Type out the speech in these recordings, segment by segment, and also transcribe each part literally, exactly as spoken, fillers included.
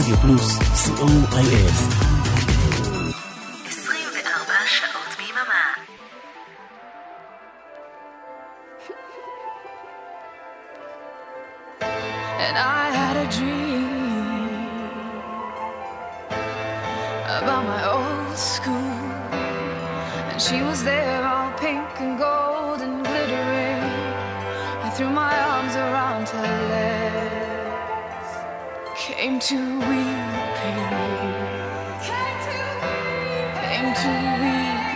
רדיו פלוס, סי או איי אס. עשרים וארבע שעות ביממה. And I had a dream about my old school, and she was there all pink and gold and glittering. I threw my arms around her legs, came to weeping, came to weeping, came to weeping.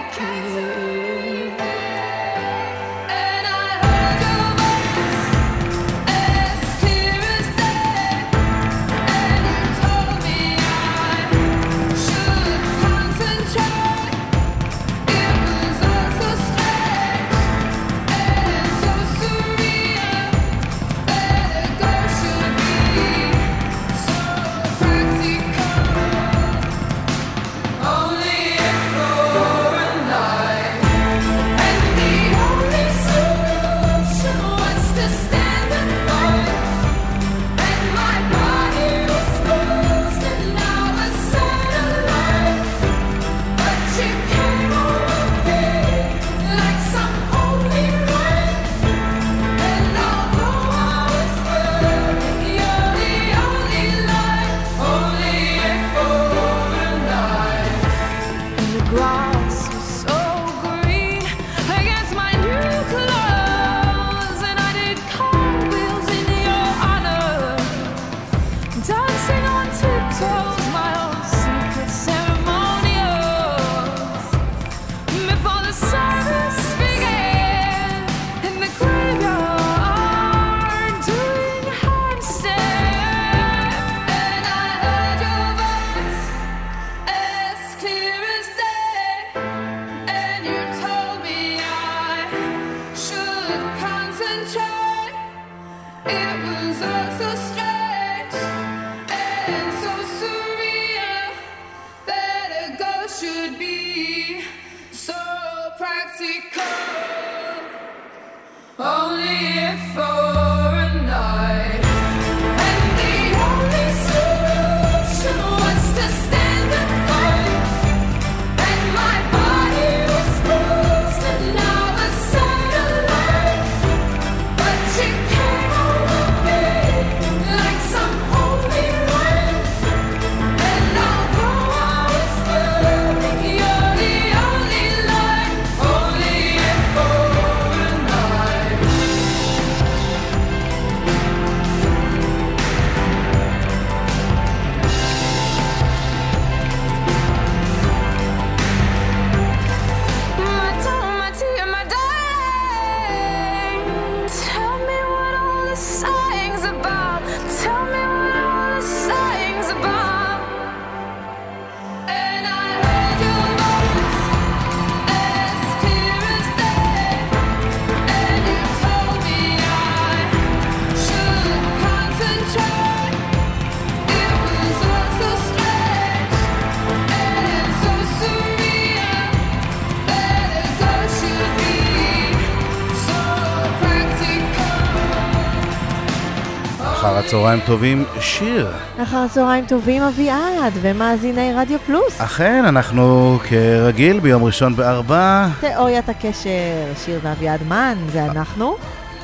אחר הצהריים טובים, שיר. אחר הצהריים טובים, אביעד, ומאזיני רדיו פלוס. אכן, אנחנו כרגיל ביום ראשון בארבע. תיאוריית הקשר, שיר ואביעד מן, זה אנחנו.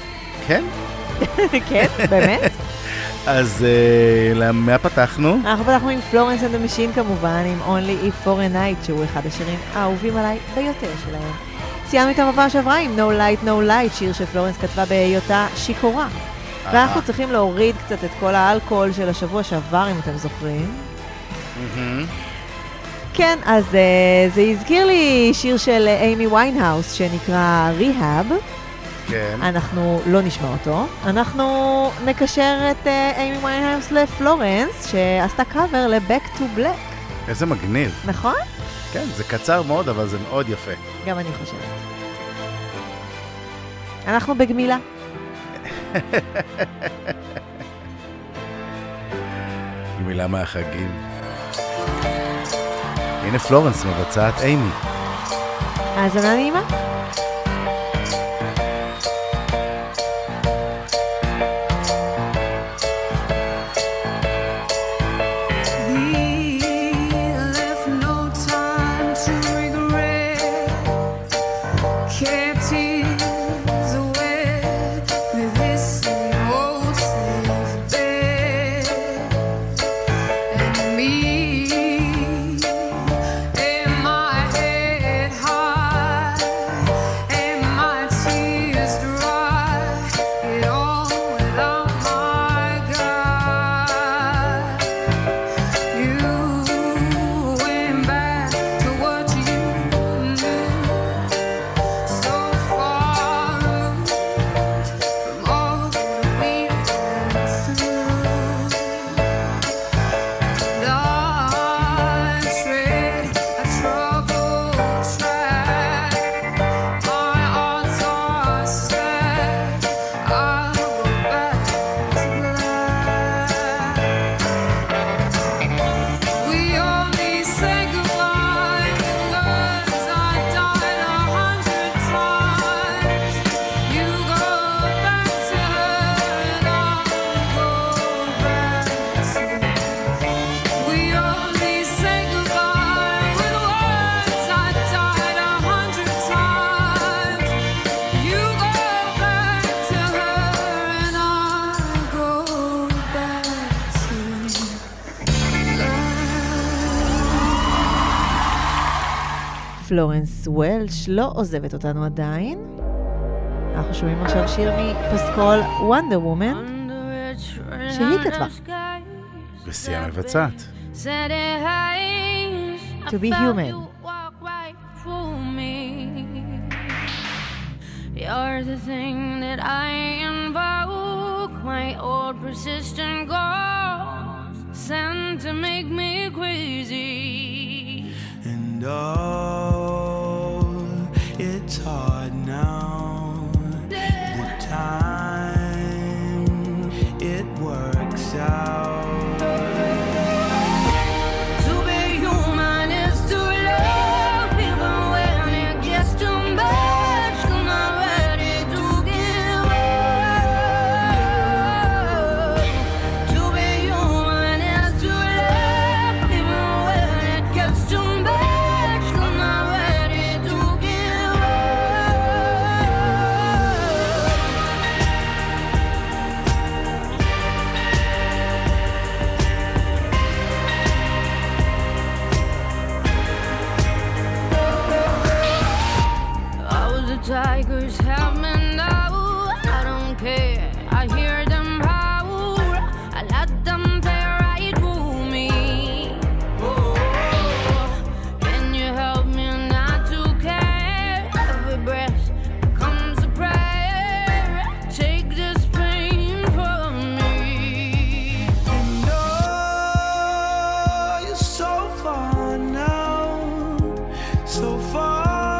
כן? כן, באמת. אז למה פתחנו? אנחנו פתחנו עם פלורנס אנד המשין כמובן, עם Only If for a Night, שהוא אחד השירים האהובים עליי ביותר שלהם. סיימנו איתם בפעם שעברה עם No Light No Light, שיר שפלורנס כתבה בהיותה שיכורה. ואנחנו צריכים להוריד קצת את כל האלכוהול של השבוע שעבר, אם אתם זוכרים. כן, אז זה הזכיר לי שיר של אימי ויינהאוס שנקרא Rehab. כן. אנחנו לא נשמע אותו. אנחנו נקשר את אימי ויינהאוס לפלורנס, שעשתה קאבר ל-Back to Black. איזה מגניב. נכון? כן, זה קצר מאוד, אבל זה מאוד יפה. גם אני חושבת. אנחנו בגמילה. גמילה מהחגים. הנה פלורנס מבצעת אימי. האזנה נעימה. פלורנס וולש לא עוזבת אותנו עדיין. אנחנו שומעים עכשיו שיר מפסקול וונדר וומן, שהיא כתבה. ושיא המבצעת. To be human. You're the thing that I invoke, my old persistent ghost, sent to make me crazy. And oh, it's hard now. The time it works out. Tigers have me now, I don't care, I hear them howl, I let them play right through me. Oh, can you help me not to care? Every breath becomes a prayer, take this pain from me. And oh, you're so far now, so far.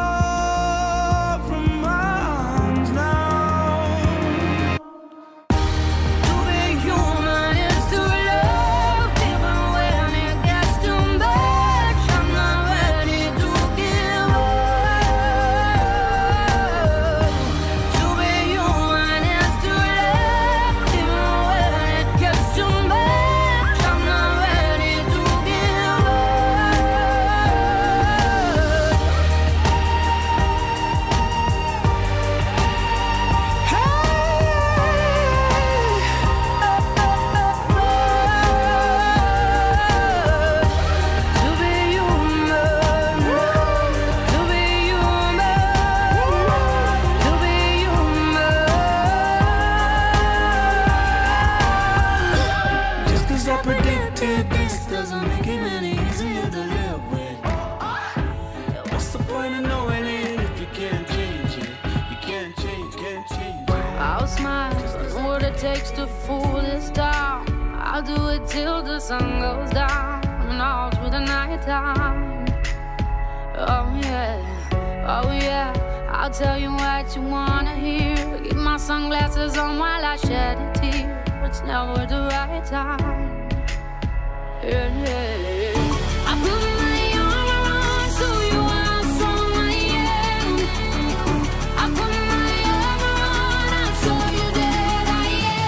Takes to fool this town. I'll do it till the sun goes down and all through the night time. Oh yeah, oh yeah, I'll tell you what you wanna hear. Keep my sunglasses on while I shed a tear. It's never the right time. Yeah, yeah. I put my arm around so you are strong I am. I put my arm around, I'll show you that I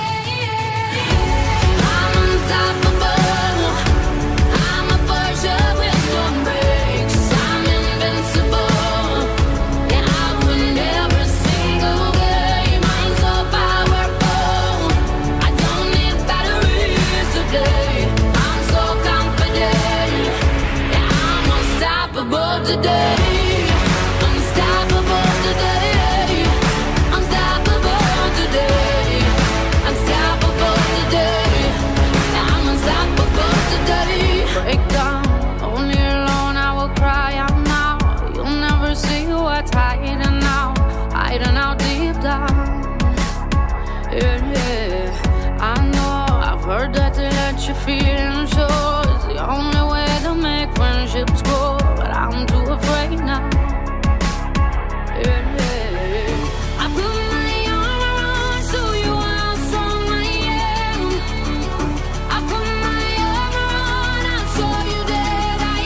am. I'm unstoppable. I'm a Porsche with no brakes. I'm invincible. Yeah, I win every single game. I'm so powerful. I don't need batteries to play. I'm so confident. Yeah, I'm unstoppable today. Unstoppable today. Unstoppable today. Unstoppable today. Yeah, I'm unstoppable today. Break down, only alone I will cry out now. You'll never see what's hiding out, hiding out deep down. Yeah, yeah, I know, I've heard that to let you feel and show is the only way to make friendships grow, but I'm too afraid now. Yeah, yeah, I put my arm around so you are how strong I am. I put my arm around, I'll show you that I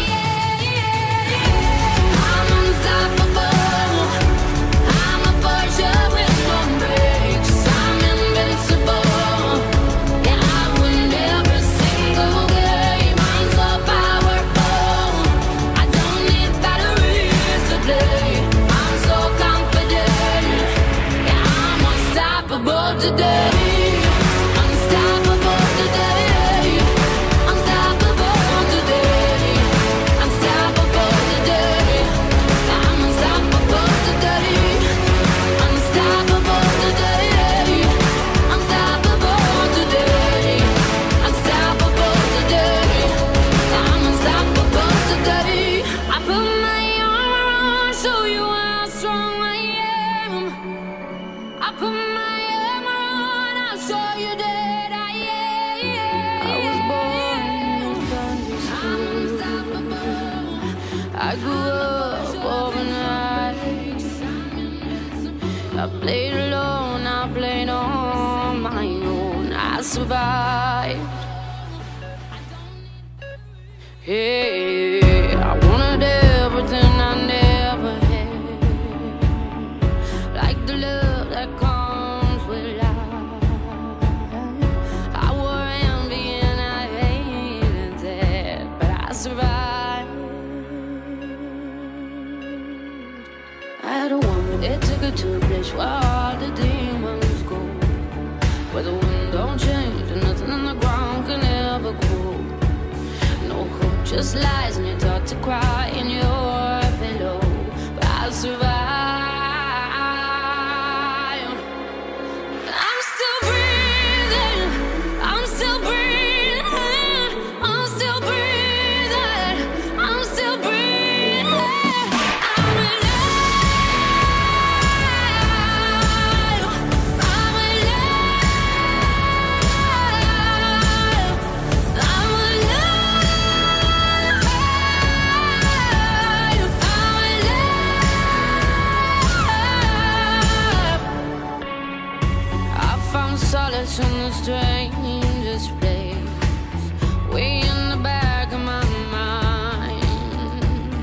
am. I'm unstoppable. I'm a Porsche with no brakes. I'm invincible. Yeah, I win every single game. I'm so powerful. I don't need batteries to play. I'm so confident. Yeah, I'm unstoppable today. Unstoppable today. Unstoppable today. Unstoppable today. played alone, I played on my own. I survived. Hey, I wanted everything I never had, like the love that comes with life. I wore envy and I hated that, but I survived. I had a woman that took her to a place where all the demons go, where the wind don't change and nothing on the ground can ever grow. No hope, just lies, and you're taught to cry in your pillow. But I survived. I'm still breathing. I'm still breathing. I'm still breathing. I'm still breathing. I'm alive. I'm alive. I'm alive. I found solace in the strangest place, way in the back of my mind.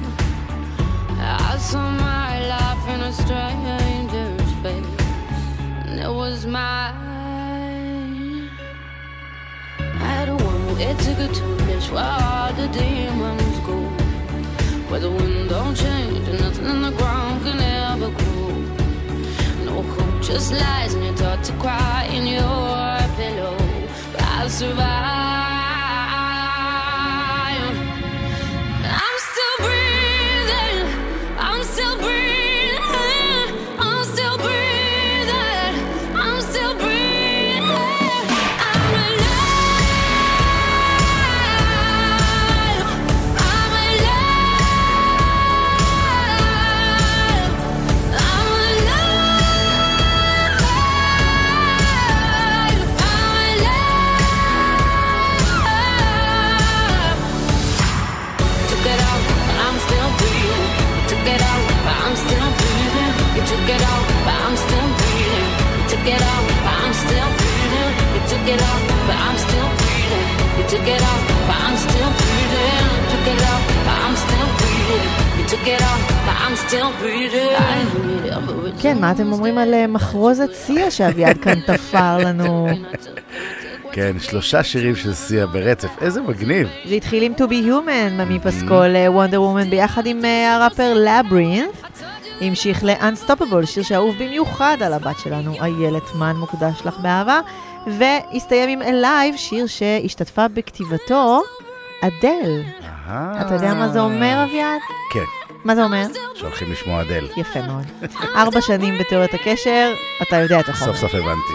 I saw my life in a stranger's face, and it was mine. I had a woman that took her to a place where all the demons go, where the wind don't change and nothing on the ground can ever grow. No hope, just lies, and you're taught to cry in your pillow. But I survived. I'm still breathing. I'm still breathing. I'm still breathing. I'm still breathing. I'm alive. I'm alive. I'm alive. I'm alive. Took it out, but I'm still breathing. You took it out, but I'm still breathing. You took it out, but I'm still breathing. You took it out, but I'm still breathing. You took it out, but I'm still breathing. You took it out, but I'm still breathing. You took it out, but I'm still breathing. You took it out, but I'm still breathing. I need everything. כן, מה אתם אומרים על אה, מחרוזת סיה שאביעד כאן תפר לנו? כן, שלושה שירים של סיה ברצף, איזה מגניב. זה התחיל עם To Be Human, ממי פסקול וונדר וומן ביחד עם אה, הראפר לברינת', המשיך ל-Unstoppable, שיר שאהוב במיוחד על הבת שלנו, איילת מן, מוקדש לך באהבה, והסתיים עם Alive, שיר שהשתתפה בכתיבתו, אדל. אתה יודע מה זה אומר, אביעד? כן, מה זה אומר? שהולכים לשמוע אדל. יפה מאוד. ארבע שנים בתיאוריית הקשר, אתה יודע את החומר. סוף סוף הבנתי.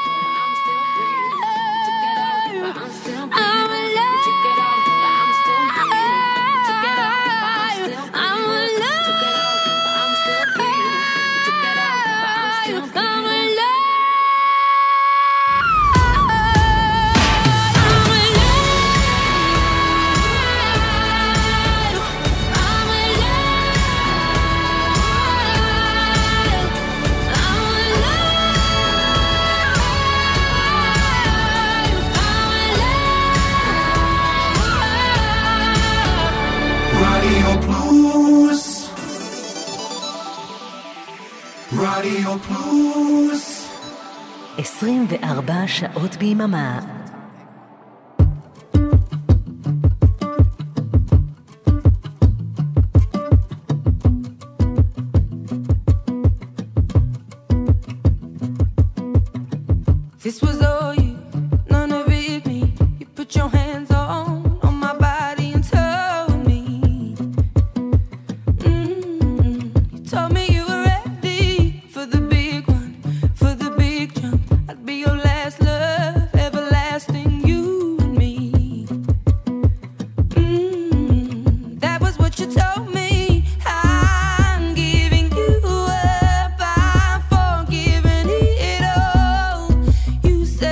רדיו פלוס עשרים וארבע שעות ביממה. This was all you, none of it me. You put your hands on, on my body and told me. Mm-hmm. You told me you were ready for the big one, for the big jump. I'd be your last love, everlasting, you and me. Mm-hmm. That was what you told me. I'm giving you up, I'm forgiving it all. You said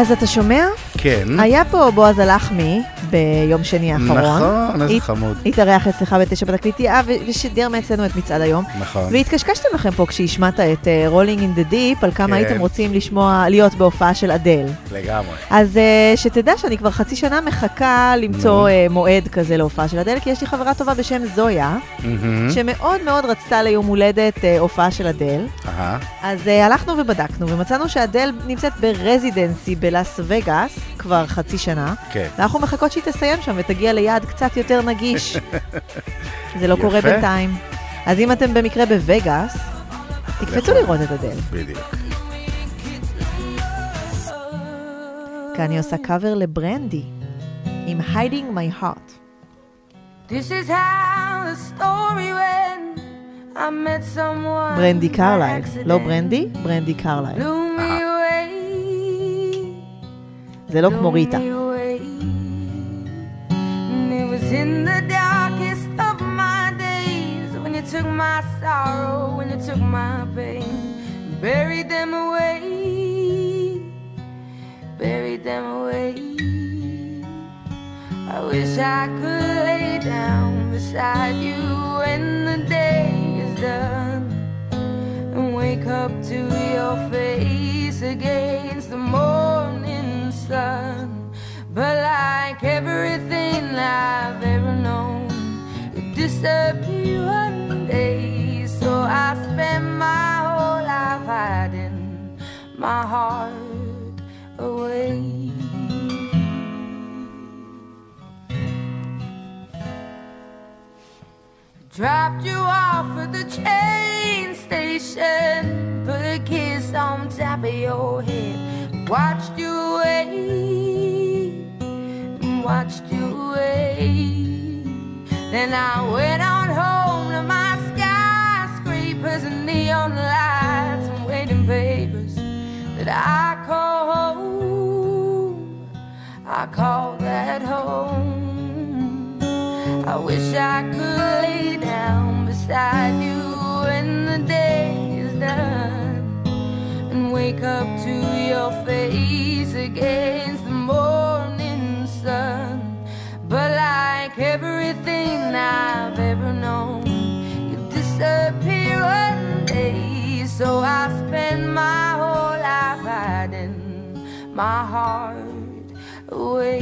אז אתה שומע? כן. היה פה בועז הלחמי ביום שני האחרון. נכון, איזה חמוד. התארח אצלך בתשע בתקליטייה ושידר מאצלנו את מצעד היום. נכון. והתקשקשתם לכם פה כשהשמעת את Rolling in the Deep, על כמה הייתם רוצים לשמוע, להיות בהופעה של אדל. לגמרי. אז שתדע שאני כבר חצי שנה מחכה למצוא מועד כזה להופעה של אדל, כי יש לי חברה טובה בשם זויה, שמאוד מאוד רצתה ליום הולדת הופעה של אדל. אז הלכנו ובדקנו, ומצאנו שאדל נמצאת ברזידנסי בלאס וגאס כבר חצי שנה. כן. ואנחנו מחכות שהיא תסיים שם ותגיע ליעד קצת יותר נגיש. זה לא קורה בינתיים. אז אם אתם במקרה בווגאס, תקפצו לראות את אדל. בדיוק. כאן היא עושה קאבר לברנדי, עם Hiding My Heart. This is how the story went. I met someone. ברנדי קרלייל. לא ברנדי, ברנדי קרלייל. זה לא כמו ריטה. In the darkest of my days, when you took my sorrow, when you took my pain, buried them away, buried them away. I wish I could lay down beside you when the day is done and wake up to your face against the morning sun. But like everything I've ever known, it disappeared one day. So I spent my whole life hiding my heart away. Dropped you off at the train station, put a kiss on top of your head, watched you away. Watched you away. Then I went on home to my skyscrapers and neon lights and waiting papers that I call home. I call that home. I wish I could lay down beside you when the day is done and wake up to your face against the morning sun. But like everything I've ever known, you disappear one day. So I spend my whole life hiding my heart away,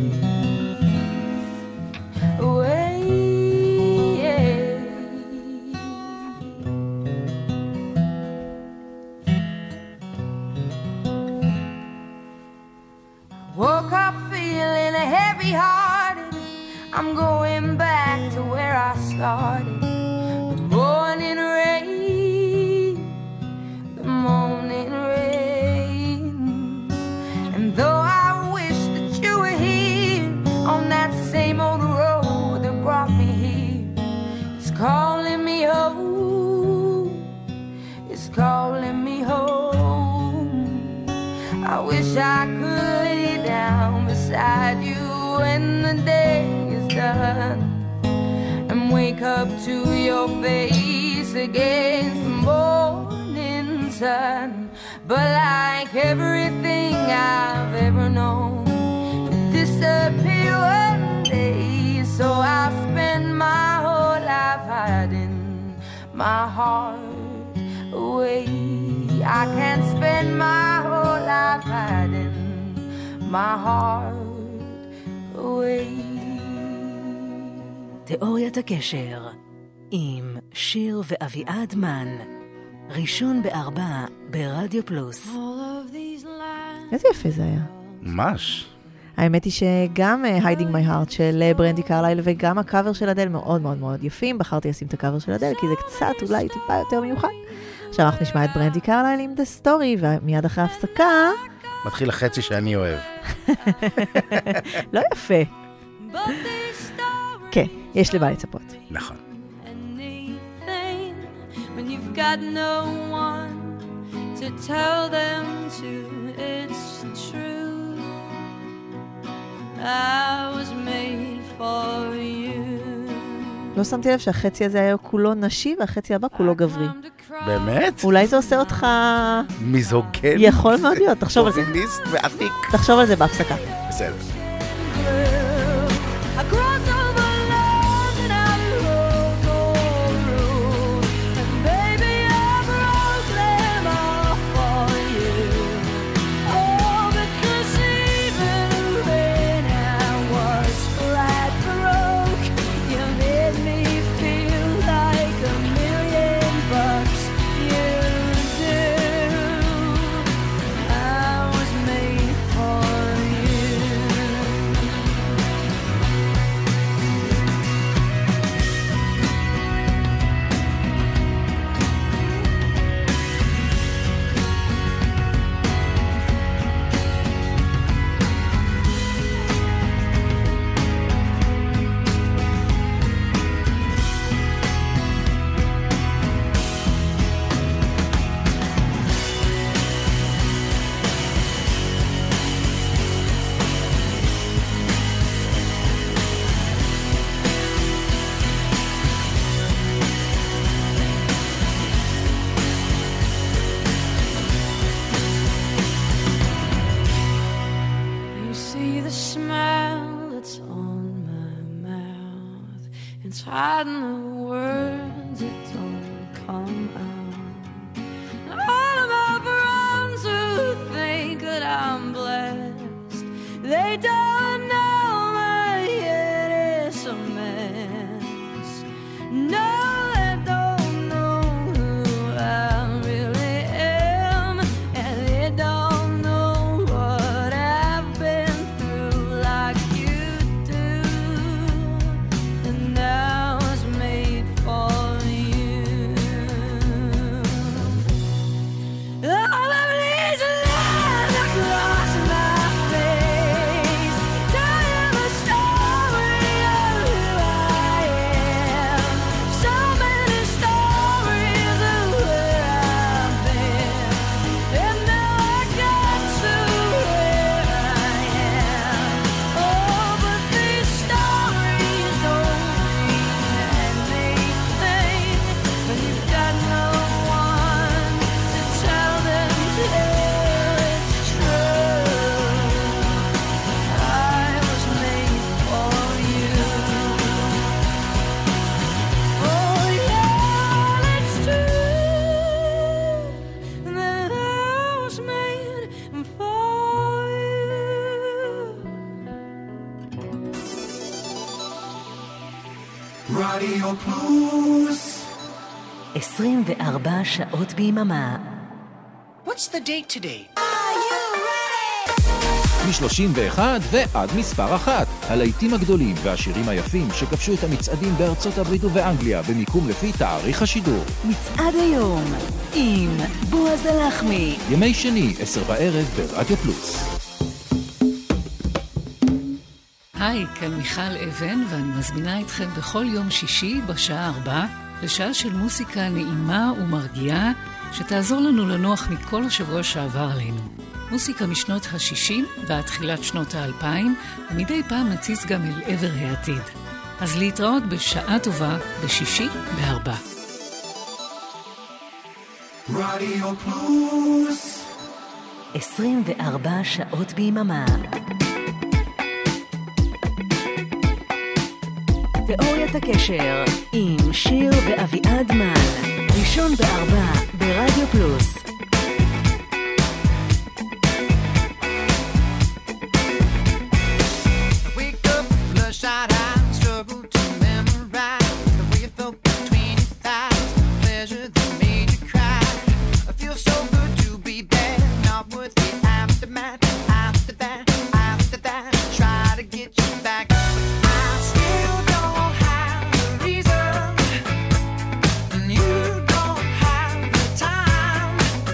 away, yeah. Woke up feeling heavy-hearted. I'm going back to where I started. The morning rain, the morning rain. And though I wish that you were here on that same old road that brought me here, it's calling me home, it's calling me home. I wish I could lay down beside you when the day is done and wake up to your face against the morning sun. But like everything I've ever known, it disappeared one day. So I spend my whole life hiding my heart away. I can't spend my whole life hiding my heart away. תיאוריית הקשר עם שיר ואביעד מן, ראשון בארבע ברדיו פלוס. איזה יפה זה היה. ממש. האמת היא שגם Hiding My Heart של ברנדי קרלייל וגם הקאבר של אדל מאוד מאוד מאוד יפים. בחרתי לשים את הקאבר של אדל כי זה קצת אולי טיפה יותר מיוחד. עכשיו אנחנו נשמע את ברנדי קרלייל עם The Story, ומיד אחרי הפסקה מתחיל החצי שאני אוהב. לא יפה. כן, יש לי מה לצפות. נכון. When you've got no one to tell them to, it's true. I was made for you. לא שמתי לב שהחצי הזה היה כולו נשי והחצי הבא כולו גברי. באמת? אולי זה עושה אותך... מיזוגן? יכול מאוד להיות, תחשוב על זה. פוביניסט ועתיק. תחשוב על זה בהפסקה. בסדר. hiding the words that don't come out. And all of my friends who think that I'm blessed, they don't know my head is a mess. No, they don't know who I really am, and they don't know what I've been through like you do. And I was made for you. All of these lines across my face tell you the story of who I am. So many stories of where I've been, and now I got to where I am. Oh, but these stories don't mean anything when you've got no one to tell them till it's true. I was made for you. Oh yeah, it's true that I was made for you. רדיו פלוס. עשרים וארבע שעות ביממה. What's the date today? מ-שלושים ואחת ועד מספר אחת. הלהיטים הגדולים והשירים היפים שכבשו את המצעדים בארצות הברית ובאנגליה במיקום לפי תאריך השידור. מצעד היום עם בועז הלחמי. ימי שני, עשר בערב ברדיו פלוס. היי, כאן מיכל אבן, ואני מזמינה אתכם בכל יום שישי בשעה ארבע לשעה של מוסיקה נעימה ומרגיעה שתעזור לנו לנוח מכל השבוע שעבר עלינו. מוסיקה משנות ה-שישים ועד תחילת שנות ה-אלפיים, ומדי פעם נציץ גם אל עבר העתיד. אז להתראות בשעה טובה בשישי בארבע. רדיו פלוס. עשרים וארבע שעות ביממה. תיאוריית הקשר עם שיר ואביעד מן. ראשון בארבע ברדיו פלוס. Wake up, bloodshot eyes, struggle to memorize the way you felt between your thighs, pleasure that made you cry. I feel so good to be bad, not worth the aftermath. After that, after that, try to get you back. I still don't have the reason, and you don't have the time.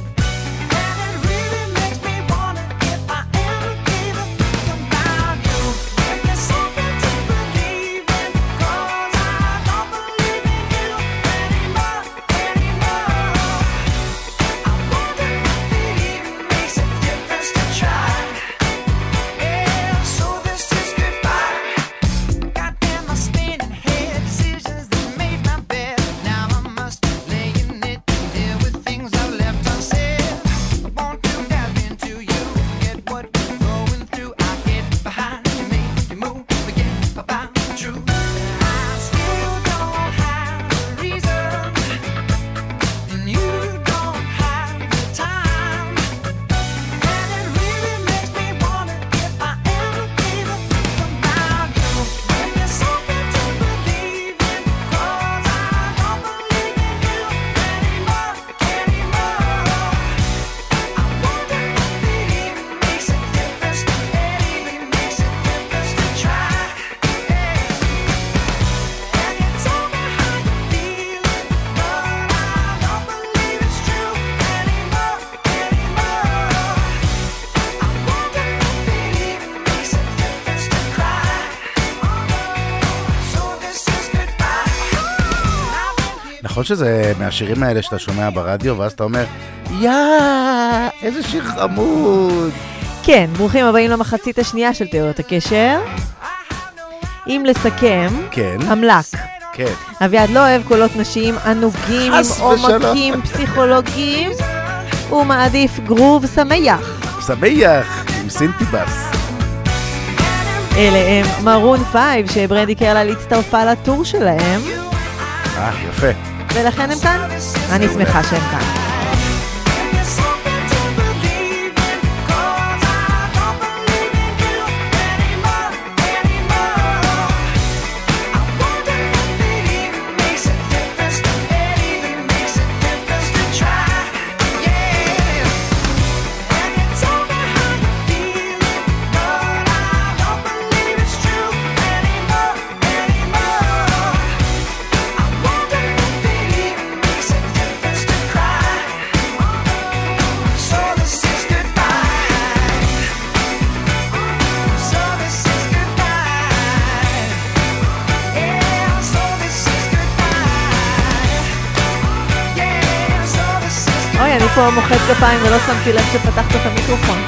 נכון שזה מהשירים האלה שאתה שומע ברדיו, ואז אתה אומר, יא, איזה שיר חמוד. כן, ברוכים הבאים למחצית השנייה של תיאוריות הקשר. אם לסכם, כן. המלק. כן. אביעד לא אוהב קולות נשיים ענוגים עם עומקים פסיכולוגיים, הוא מעדיף גרוב שמח. שמח, עם סינטיבס. אלה הם מרון פייב, שברנדי קרלל הצטרפה לטור שלהם. אה, יפה. ולכן הם כאן? אני שמחה שהם כאן. אני פה מוחץ גפיים ולא שמתי לב שפתחת את המיקרופון.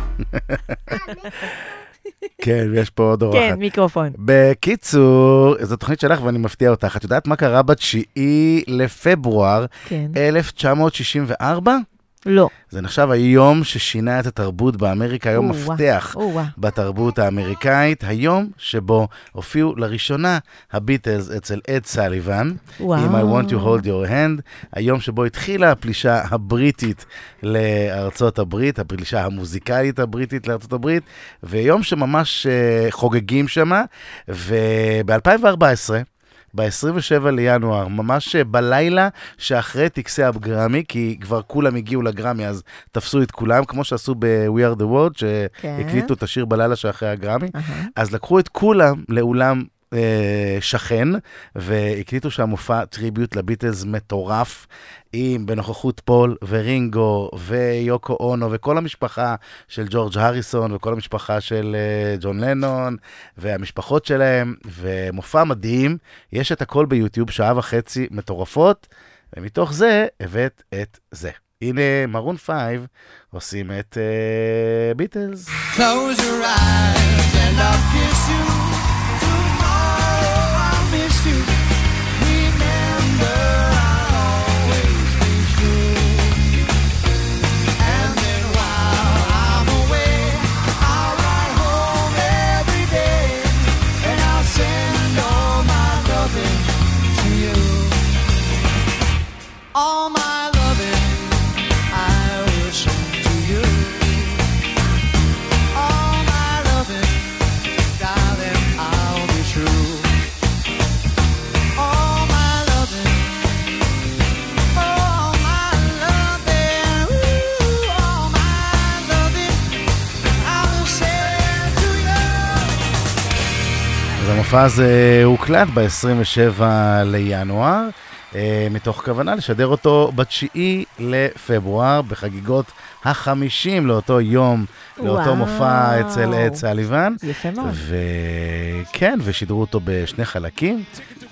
כן, ויש פה עוד אורחת. כן, מיקרופון. בקיצור, זו תוכנית שלך ואני מפתיע אותך. את יודעת מה קרה בתשיעי לפברואר אלף תשע מאות שישים וארבע? לא. זה נחשב היום ששינה את התרבות באמריקה, היום מפתח בתרבות האמריקאית, היום שבו הופיעו לראשונה הביטלס אצל אד סליבן, עם I want to hold your hand, היום שבו התחילה הפלישה הבריטית לארצות הברית, הפלישה המוזיקלית הבריטית לארצות הברית, ויום שממש חוגגים שמה, וב-אלפיים וארבע עשרה, ב-עשרים ושבעה לינואר, ממש בלילה שאחרי טקסי הגרמי, כי כבר כולם הגיעו לגרמי, אז תפסו את כולם, כמו שעשו ב-We are the world, שהקליטו את השיר בלילה שאחרי הגרמי, אז לקחו את כולם לאולם שכן, והקליטו שם מופע טריביוט לביטלס מטורף, עם בנוכחות פול ורינגו ויוקו אונו וכל המשפחה של ג'ורג' הריסון וכל המשפחה של ג'ון לנון והמשפחות שלהם, ומופע מדהים, יש את הכל ביוטיוב, שעה וחצי מטורפות, ומתוך זה הבאת את זה. הנה מרון פייב עושים את ביטלס. Close your eyes and I'll kiss you. Tomorrow I'll miss you. Remember I'll always be true. And then while I'm away, I'll ride home every day. And I'll send all my loving to you. All my loving I will send to you. All my loving, darling, I'll be true. All my loving, all my loving, ooh, all my loving, I will send to you. אז המופע הזה הוקלט ב-עשרים ושבעה לינואר, מתוך כוונה לשדר אותו בתשיעי לפברואר, בחגיגות החמישים לאותו יום, לאותו מופע אצל אד סליבן. יפה מאוד. וכן, ושידרו אותו בשני חלקים,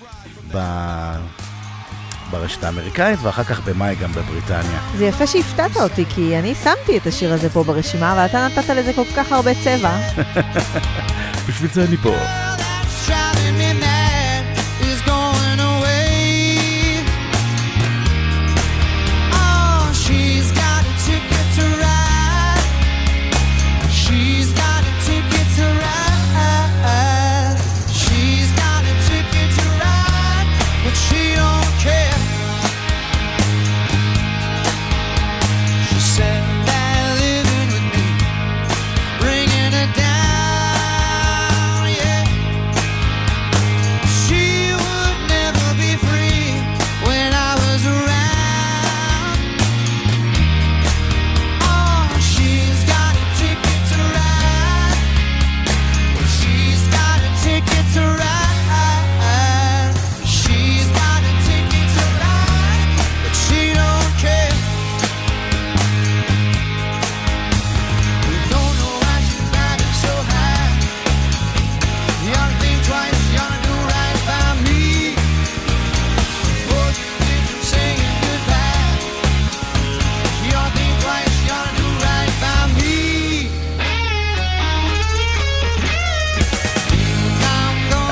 ברשת האמריקאית, ואחר כך במאי גם בבריטניה. זה יפה שהפתעת אותי, כי אני שמתי את השיר הזה פה ברשימה, ואתה נתת לזה כל כך הרבה צבע. בשביל זה אני פה. Driving me mad is going away. Oh, she's got a ticket to ride. She's got a ticket to ride. She's got a ticket to ride, but she don't care. She said that living with me, bringing her down, yeah.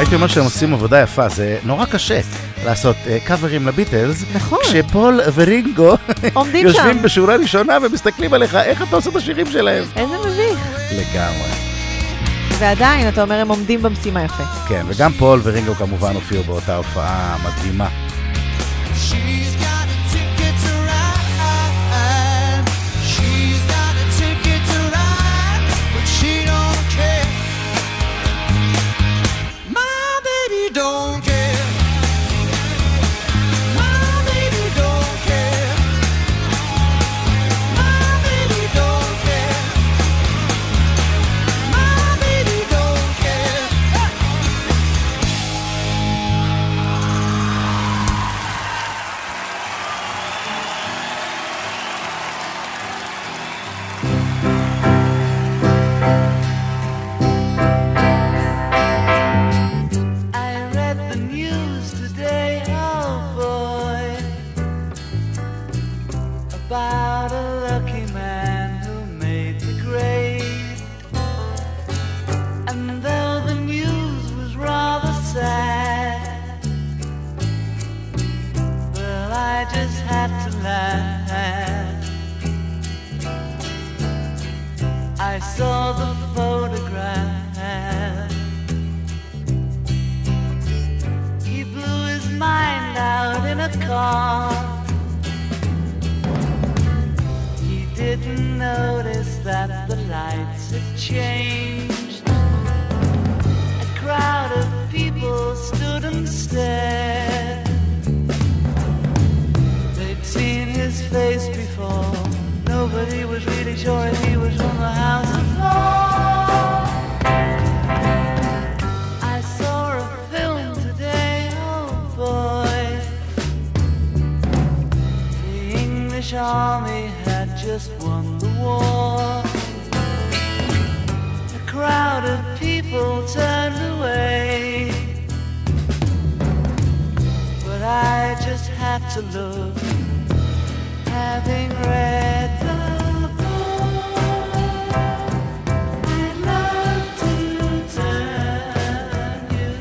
הייתי אומר שהם עושים עבודה יפה, זה נורא קשה לעשות קאברים לביטלס, נכון. כשפול ורינגו עומדים יושבים שם. בשורה ראשונה ומסתכלים עליך, איך אתה עושה את השירים שלהם? איזה מביך. לגמרי. ועדיין, אתה אומר, הם עומדים במשימה יפה. כן, וגם פול ורינגו כמובן הופיעו באותה הופעה מדהימה. She's got a ticket to ride. She's got a ticket to ride, but she don't care. My baby don't care. My baby don't care. My baby don't care. My baby don't care. I read the news today, oh boy, about a lucky man who made the grade. And though the news was rather sad, well, I just had to laugh. I saw the photograph. He blew his mind out in a car. He didn't notice that the lights had changed. A crowd of people stood and stared. They'd seen his face before. Nobody was really sure if he was from the House of Lords. I saw a film today, oh boy. The English army had just won the war. A crowd of people turned away, but I just had to look. Having read the book, I'd love to turn you.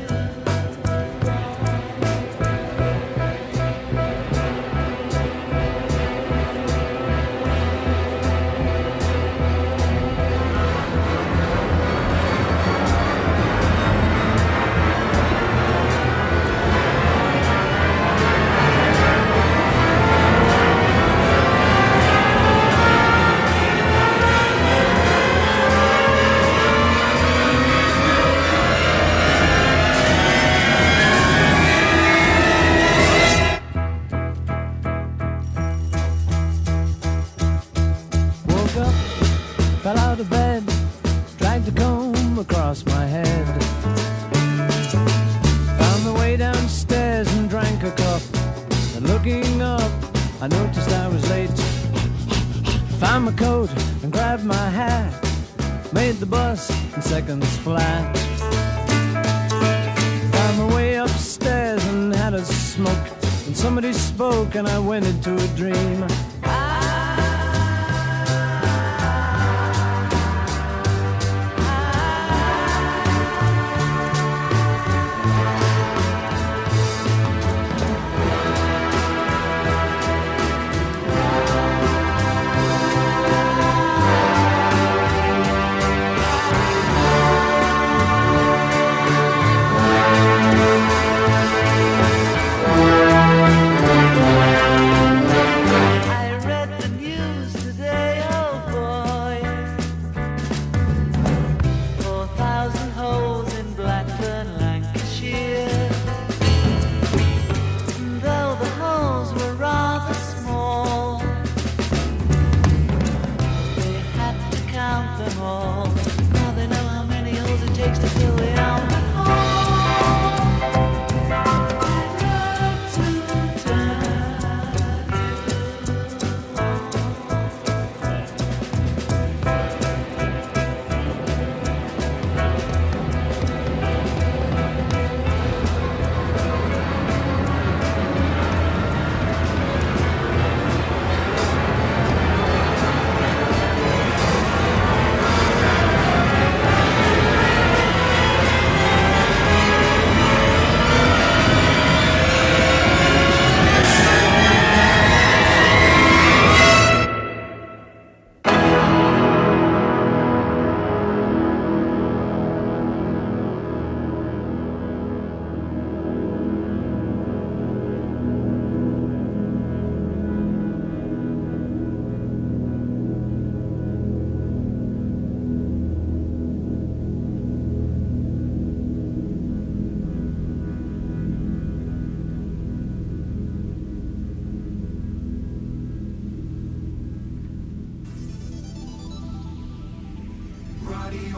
Woke up, fell out of bed, dragged a comb across my head. Found the way downstairs and drank a cup. And looking up, I noticed I was late. Found my coat and grabbed my hat. Made the bus in seconds flat. Found my way upstairs and had a smoke. And somebody spoke and I went into a dream. I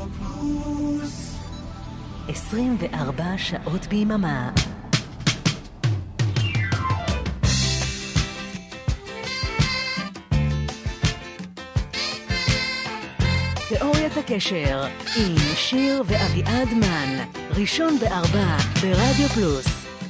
עשרים וארבע שעות ביממה. תיאוריית הקשר עם שיר ואביעד מן, ראשון בארבע ברדיו פלוס.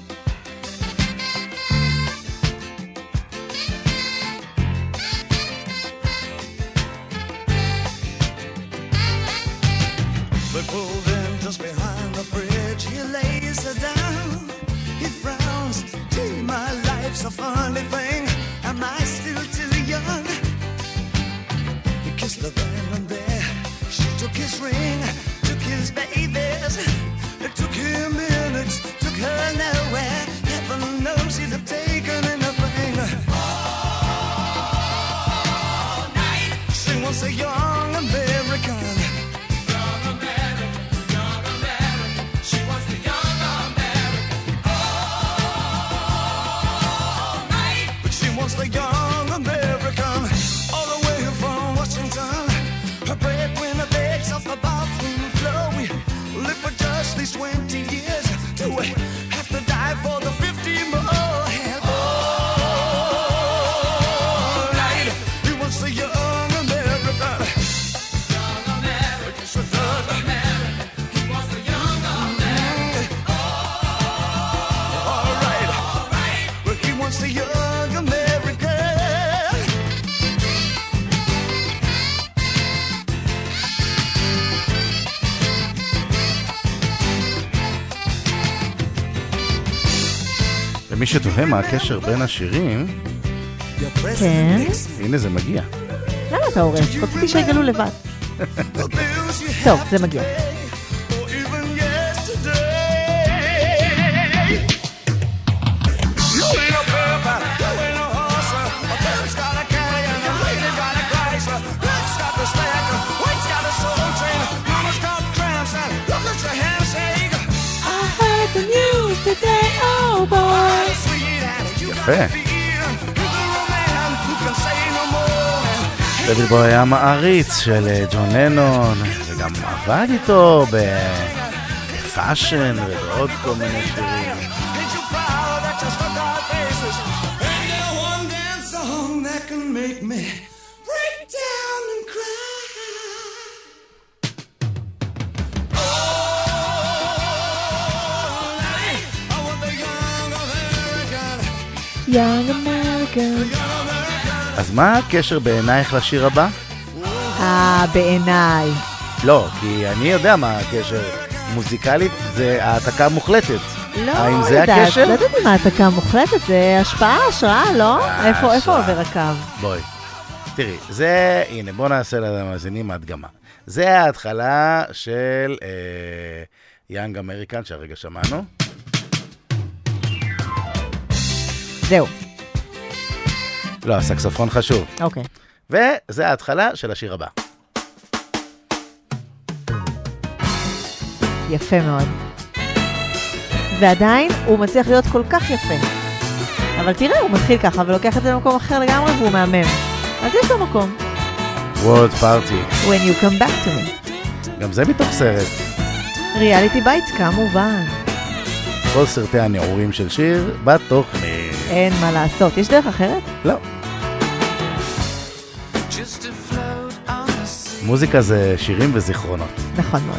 They pulled in just behind the bridge. He lays her down. He frowns. Gee, my life's a funny thing. Am I still too young? He kissed her then and there. She took his ring, took his babies. It took him minutes, took her nowhere. Heaven knows he'd have taken anything. All night. She wants a young American. The young American, all the way from Washington. Her breadwinner begs off the bathroom floor. We live for just these twenty years. Do we have to die for the fifty more? And all night, he wants the young American. Young American, it's a thug American. He wants the young American. All right, all right, but he wants the young American. למי שתוהה מה הקשר בין השירים, כן. הנה זה מגיע. למה אתה הורס? רציתי שיגלו לבד. טוב, זה מגיע. יפה. דויד בוי היה מעריץ של ג'ון לנון, וגם עבד איתו בפאשן ובעוד כל מיני שירים. Young American. אז מה הקשר בעינייך לשיר הבא? אה, בעיניי. לא, כי אני יודע מה הקשר. מוזיקלית זה העתקה מוחלטת. לא, האם זה יודעת, הקשר? לא יודעת אם העתקה מוחלטת, זה השפעה, השראה, לא? איפה, איפה עובר הקו? בואי, תראי, זה, הנה, בוא נעשה למאזינים ההדגמה. זה ההתחלה של יאנג אמריקן שהרגע שמענו. זהו. לא, הסקסופון חשוב. אוקיי. וזה ההתחלה של השיר הבא. יפה מאוד. ועדיין הוא מצליח להיות כל כך יפה. אבל תראה, הוא מתחיל ככה ולוקח את זה למקום אחר לגמרי והוא מהמם. אז יש לו מקום. World Party. When you come back to me. גם זה מתוך סרט. ריאליטי בייטס כמובן. כל סרטי הנעורים של שיר בתוכנית. אין מה לעשות. יש דרך אחרת? לא. מוזיקה זה שירים וזיכרונות. נכון מאוד.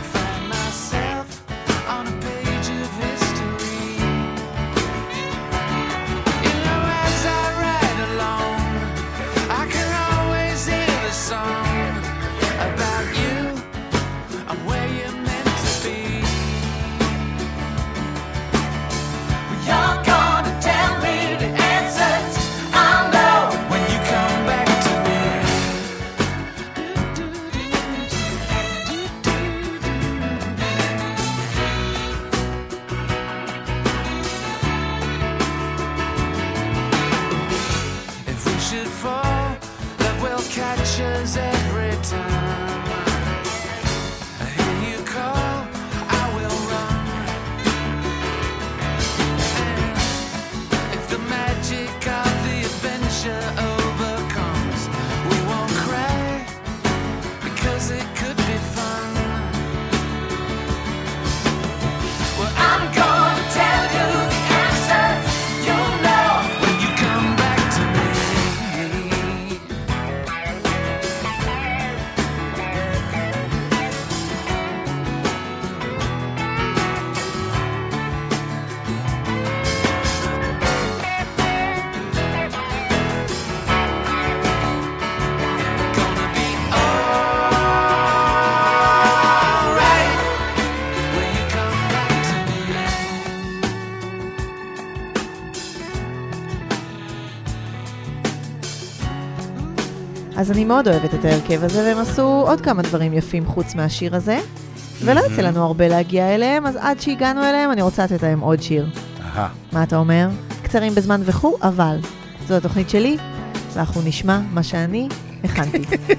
אז אני מאוד אוהבת את ההרכב הזה, והם עשו עוד כמה דברים יפים חוץ מהשיר הזה, ולא יצא לנו הרבה להגיע אליהם, אז עד שהגענו אליהם אני רוצה לתת להם עוד שיר. מה אתה אומר? קצרים בזמן וכו', אבל זו התוכנית שלי, ואנחנו נשמע מה שאני הכנתי.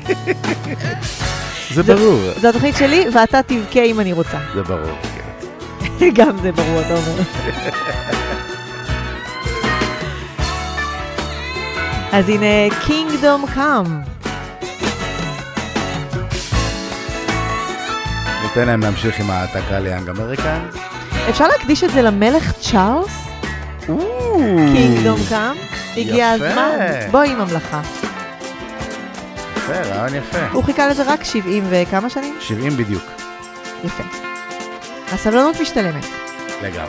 זה ברור. זו התוכנית שלי, ואתה תבכה אם אני רוצה. זה ברור, כן. גם זה ברור, אתה אומר. אז הנה, Kingdom Come. ניתן להם להמשיך עם העתקה ליאנג אמריקן. אפשר להקדיש את זה למלך צ'ארלס? Kingdom Come. הגיע הזמן. בואי עם המלאכה. יפה, רעיון יפה. הוא חיכה לזה רק שבעים וכמה שנים? שבעים בדיוק. יפה. הסבלנות משתלמת. לגמרי.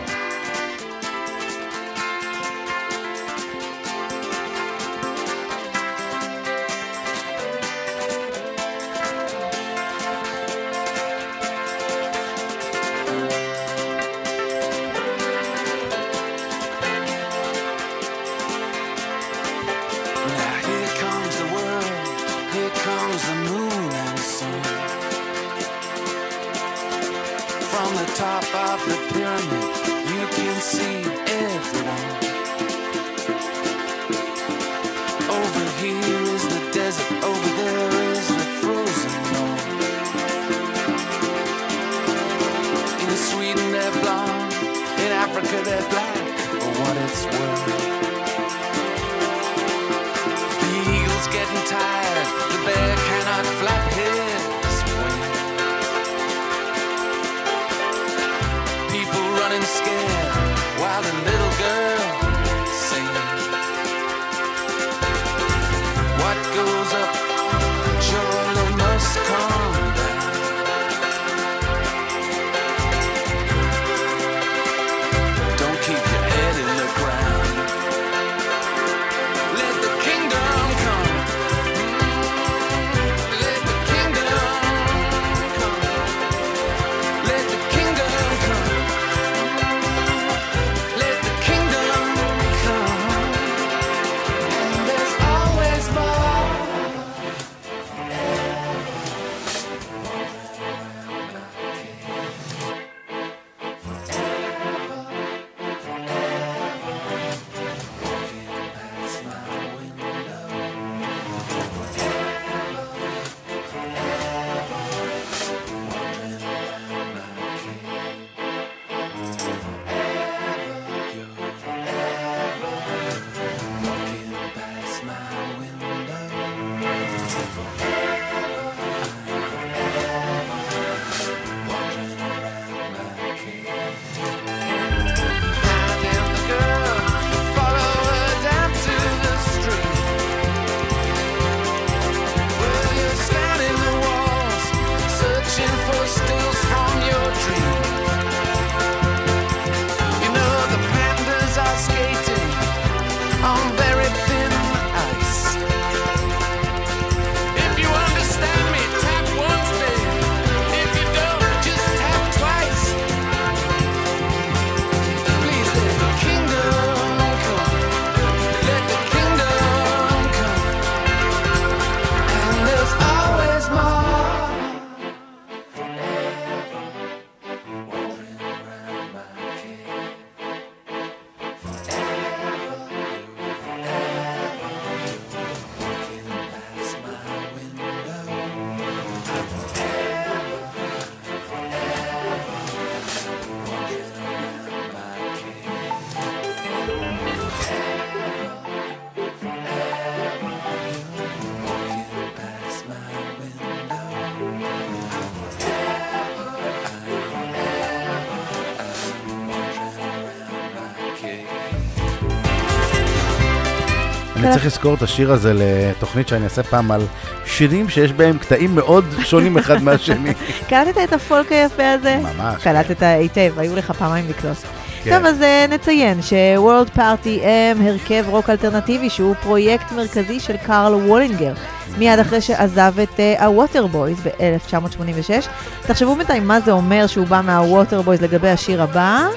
אני צריך לזכור את השיר הזה לתוכנית שאני אעשה פעם על שירים שיש בהם קטעים מאוד שונים אחד מהשני. קלטת את הפולק היפה הזה? ממש. קלטת היטב, היו לך פעמיים לקלוט. טוב, אז נציין ש-World Party הם הרכב רוק אלטרנטיבי שהוא פרויקט מרכזי של קארל וולינגר, מיד אחרי שעזב את הווטרבויז ב-אלף תשע מאות שמונים ושש. תחשבו בינתיים מה זה אומר שהוא בא מהווטרבויז לגבי השיר הבא.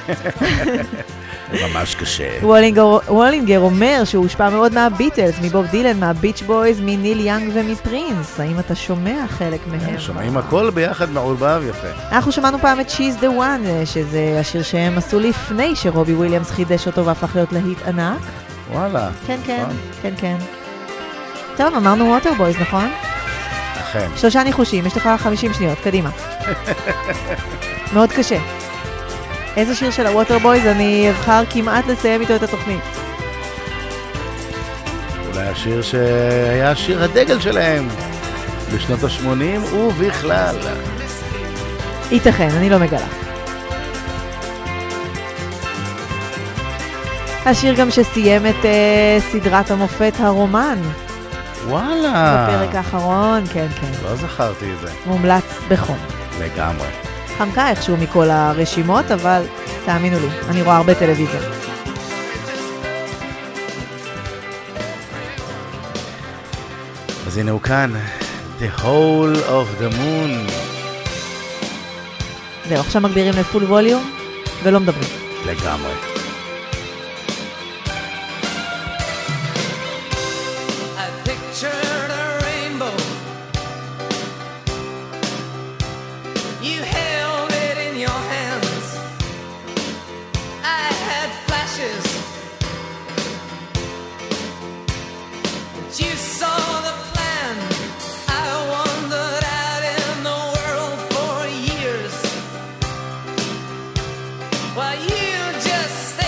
ממש קשה. וולינגר, וולינגר אומר שהוא הושפע מאוד מהביטלס, מבוב דילן, מהביץ' בויז, מניל יאנג ומפרינס. האם אתה שומע חלק מהם? שומעים הכל ביחד מעורבב יפה. אנחנו שמענו פעם את She's the One, שזה השיר שהם עשו לפני שרובי וויליאמס חידש אותו והפך להיות להיט ענק. וואלה. כן, כן, כן, כן. טוב, אמרנו ווטר בויז, נכון? אכן. שלושה ניחושים, יש לך חמישים שניות, קדימה. מאוד קשה. איזה שיר של הווטר בויז אני אבחר כמעט לסיים איתו את התוכנית? אולי השיר שהיה שיר הדגל שלהם בשנות ה-שמונים ובכלל. ייתכן, אני לא מגלה. השיר גם שסיים את uh, סדרת המופת הרומן. וואלה. בפרק האחרון, כן, כן. לא זכרתי את זה. מומלץ בחום. לגמרי. חמקה איכשהו מכל הרשימות, אבל תאמינו לי, אני רואה הרבה טלוויזיה. אז הנה הוא כאן, The Whole of the Moon. זהו, עכשיו מגבירים לפול ווליום, ולא מדברים. לגמרי. Well, you just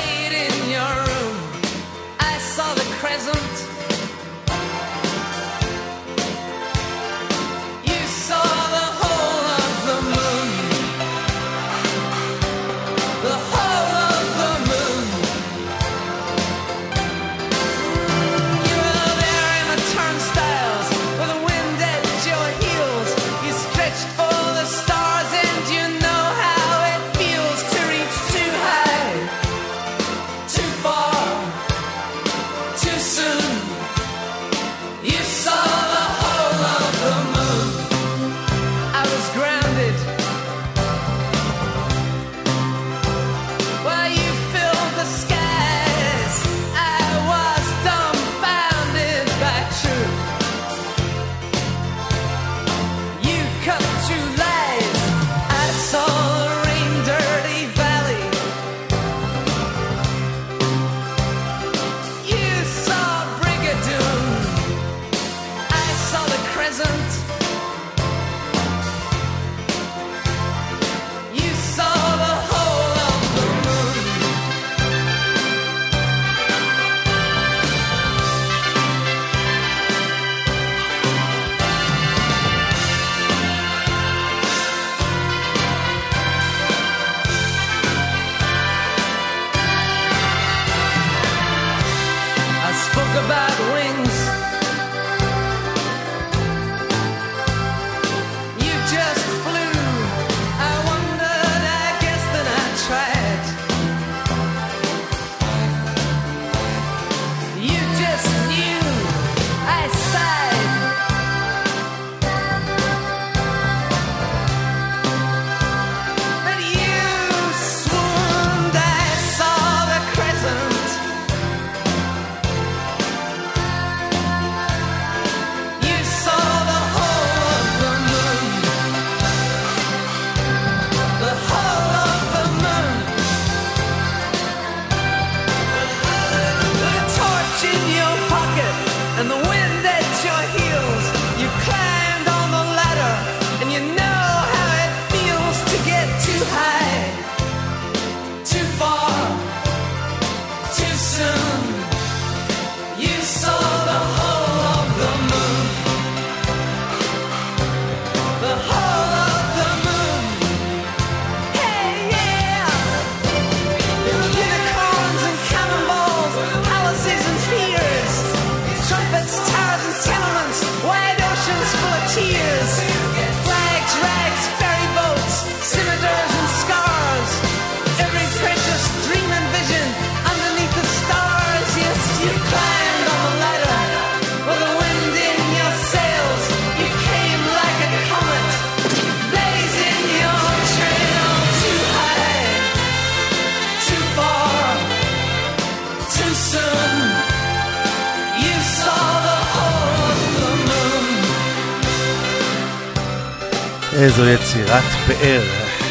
איזו יצירת פאר.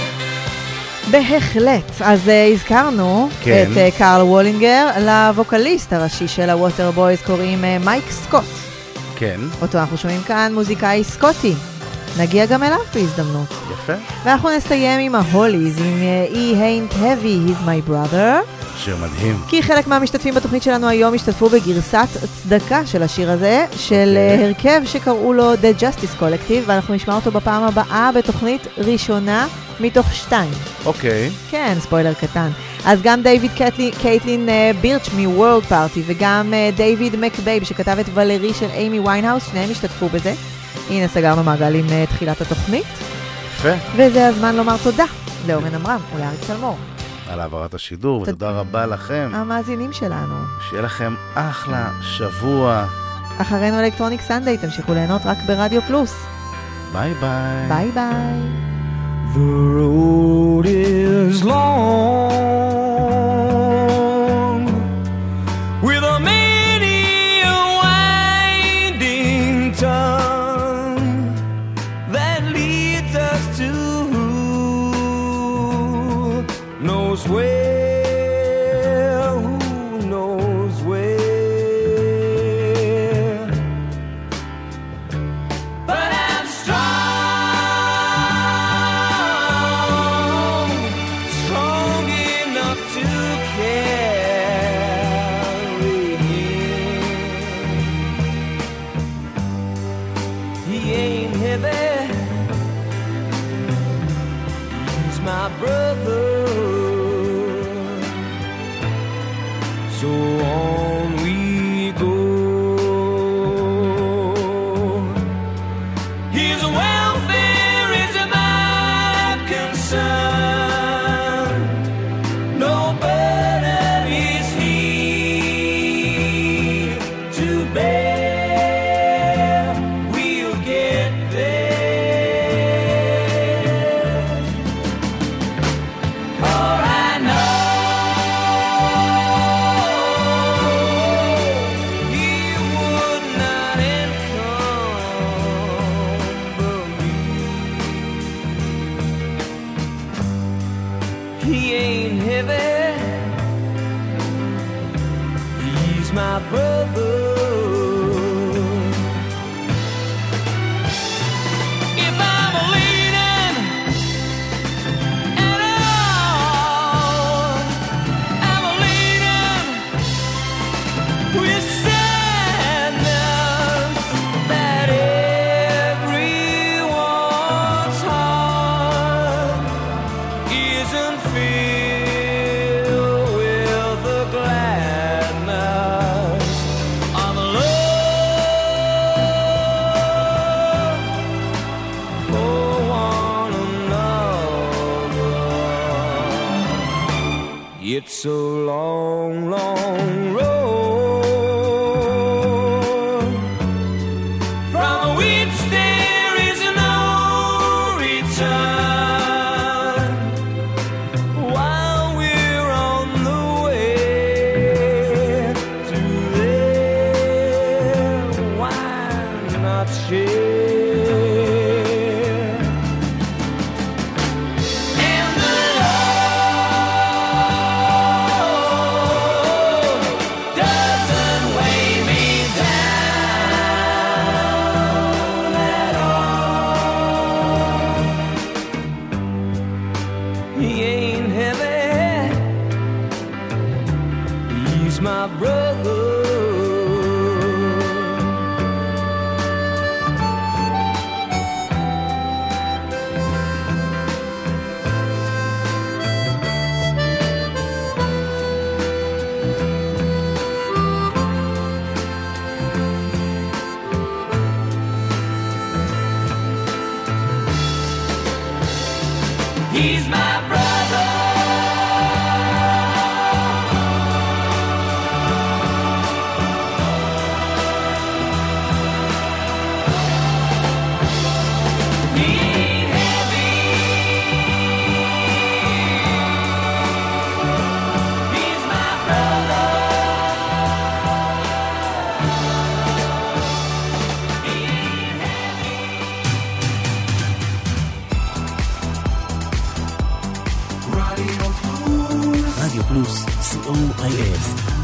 בהחלט. אז uh, הזכרנו כן. את uh, קארל וולינגר, לווקליסט הראשי של הווטר בויז קוראים uh, מייק סקוט. כן. אותו אנחנו שומעים כאן, מוזיקאי סקוטי. נגיע גם אליו בהזדמנות. יפה. ואנחנו נסיים עם ההוליז, עם uh, He Ain't Heavy, He's My Brother. שיר מדהים. כי חלק מהמשתתפים בתוכנית שלנו היום השתתפו בגרסת צדקה של השיר הזה, של okay. הרכב שקראו לו The Justice Collective, ואנחנו נשמע אותו בפעם הבאה בתוכנית ראשונה מתוך שתיים. אוקיי. Okay. כן, ספוילר קטן. אז גם דיוויד קייטלין, קייטלין uh, בירץ' מוורלד פארטי, וגם uh, דיוויד מקבייב שכתב את ולרי של אימי ויינהאוס, שניהם השתתפו בזה. הנה סגרנו מעגל עם uh, תחילת התוכנית. יפה. וזה הזמן לומר תודה לאורן אמרם ולאריק תלמור. על העברת השידור, ותודה רבה לכם. המאזינים שלנו. שיהיה לכם אחלה שבוע. אחרינו אלקטרוניק סנדיי, תמשיכו ליהנות רק ברדיו פלוס. ביי ביי. ביי ביי. The road is long with a many winding tongue that leads us to knows where, who knows where. But I'm strong, strong enough to carry him. He ain't heavy, he's my brother. So on we go. His welfare is my concern. No burden is he to bear. We'll get there. For I know my brother. If I'm leaning at all, I'm leaning with sadness that everyone's heart isn't filled with the gladness of love for one another. It's a long, long road from which there is no return. While we're on the way to there, why not share? And the Lord doesn't weigh me down at all. He ain't heavy, he's my brother. He's my brother. רדיו פלוס, סי או איי אס.